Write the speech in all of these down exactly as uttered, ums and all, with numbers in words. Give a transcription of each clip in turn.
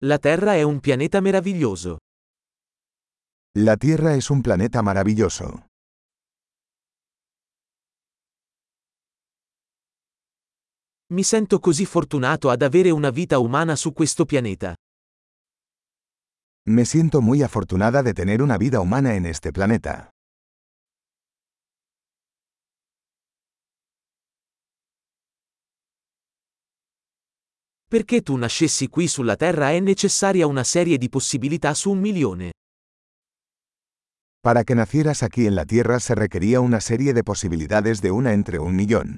La Terra è un pianeta meraviglioso. La Tierra es un planeta maravilloso. Mi sento così fortunato ad avere una vita umana su questo pianeta. Me siento muy afortunada de tener una vida humana en este planeta. Perché tu nascessi qui sulla Terra è necessaria una serie di possibilità su un milione. Para que nacieras aquí en la Tierra se requería una serie de posibilidades de una entre un millón.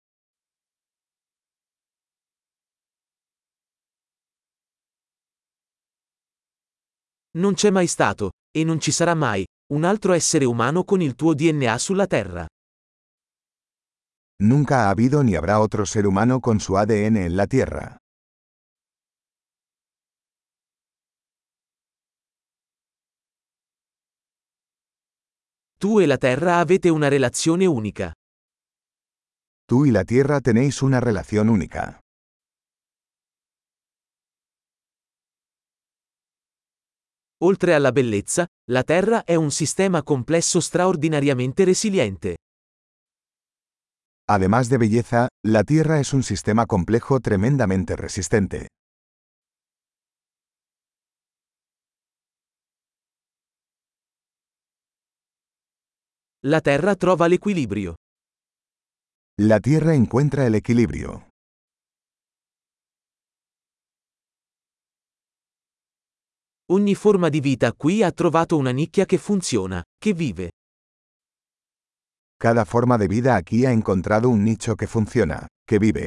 Non c'è mai stato, e non ci sarà mai, un altro essere umano con il tuo D N A sulla Terra. Nunca ha habido ni habrá otro ser humano con su A D N en la Tierra. Tu e la Terra avete una relazione unica. Tú y la Tierra tenéis una relación única. Oltre alla bellezza, la Terra è un sistema complesso straordinariamente resiliente. Además de belleza, la Tierra es un sistema complejo tremendamente resistente. La Terra trova l'equilibrio. La Tierra encuentra el equilibrio. Ogni forma di vita qui ha trovato una nicchia che funziona, che vive. Cada forma de vida aquí ha encontrado un nicho que funciona, que vive.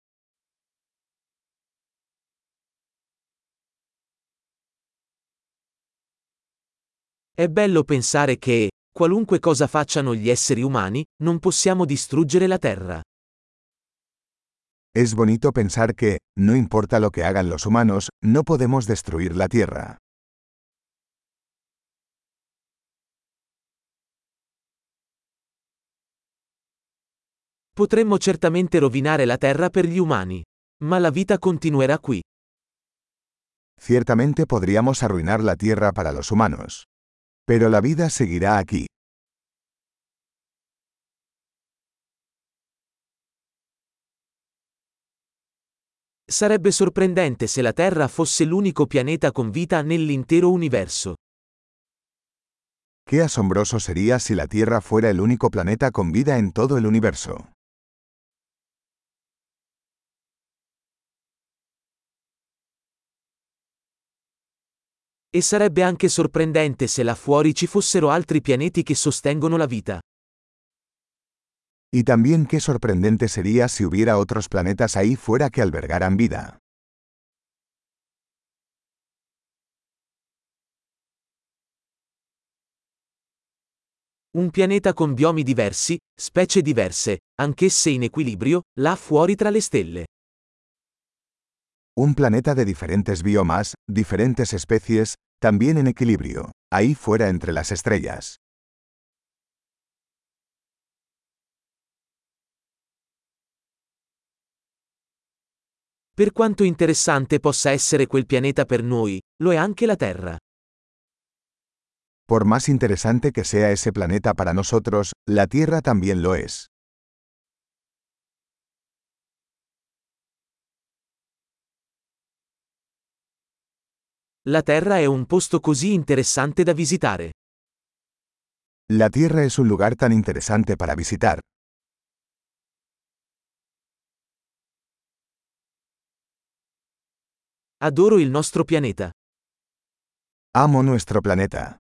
È bello pensare che, qualunque cosa facciano gli esseri umani, non possiamo distruggere la Terra. Es bonito pensar que, no importa lo que hagan los humanos, no podemos destruir la Tierra. Potremmo certamente rovinare la Terra per gli umani. Ma la vita continuerà qui. Ciertamente podríamos arruinar la Tierra para los humanos. Pero la vida seguirá aquí. Sarebbe sorprendente se la Terra fosse l'unico pianeta con vita nell'intero universo. Qué asombroso sería si la Tierra fuera el único planeta con vida en todo el universo. E sarebbe anche sorprendente se là fuori ci fossero altri pianeti che sostengono la vita. Y también qué sorprendente sería si hubiera otros planetas ahí fuera que albergaran vida. Un pianeta con biomi diversi, specie diverse, anch'esse in equilibrio, là fuori tra le stelle. Un planeta de diferentes biomas, diferentes especies, también en equilibrio, ahí fuera entre las estrellas. Per quanto interessante possa essere quel pianeta per noi, lo è anche la Terra. Por más interesante que sea ese planeta para nosotros, la Tierra también lo es. La Terra è un posto così interessante da visitare. La Tierra es un lugar tan interesante para visitar. Adoro il nostro pianeta. Amo nuestro planeta.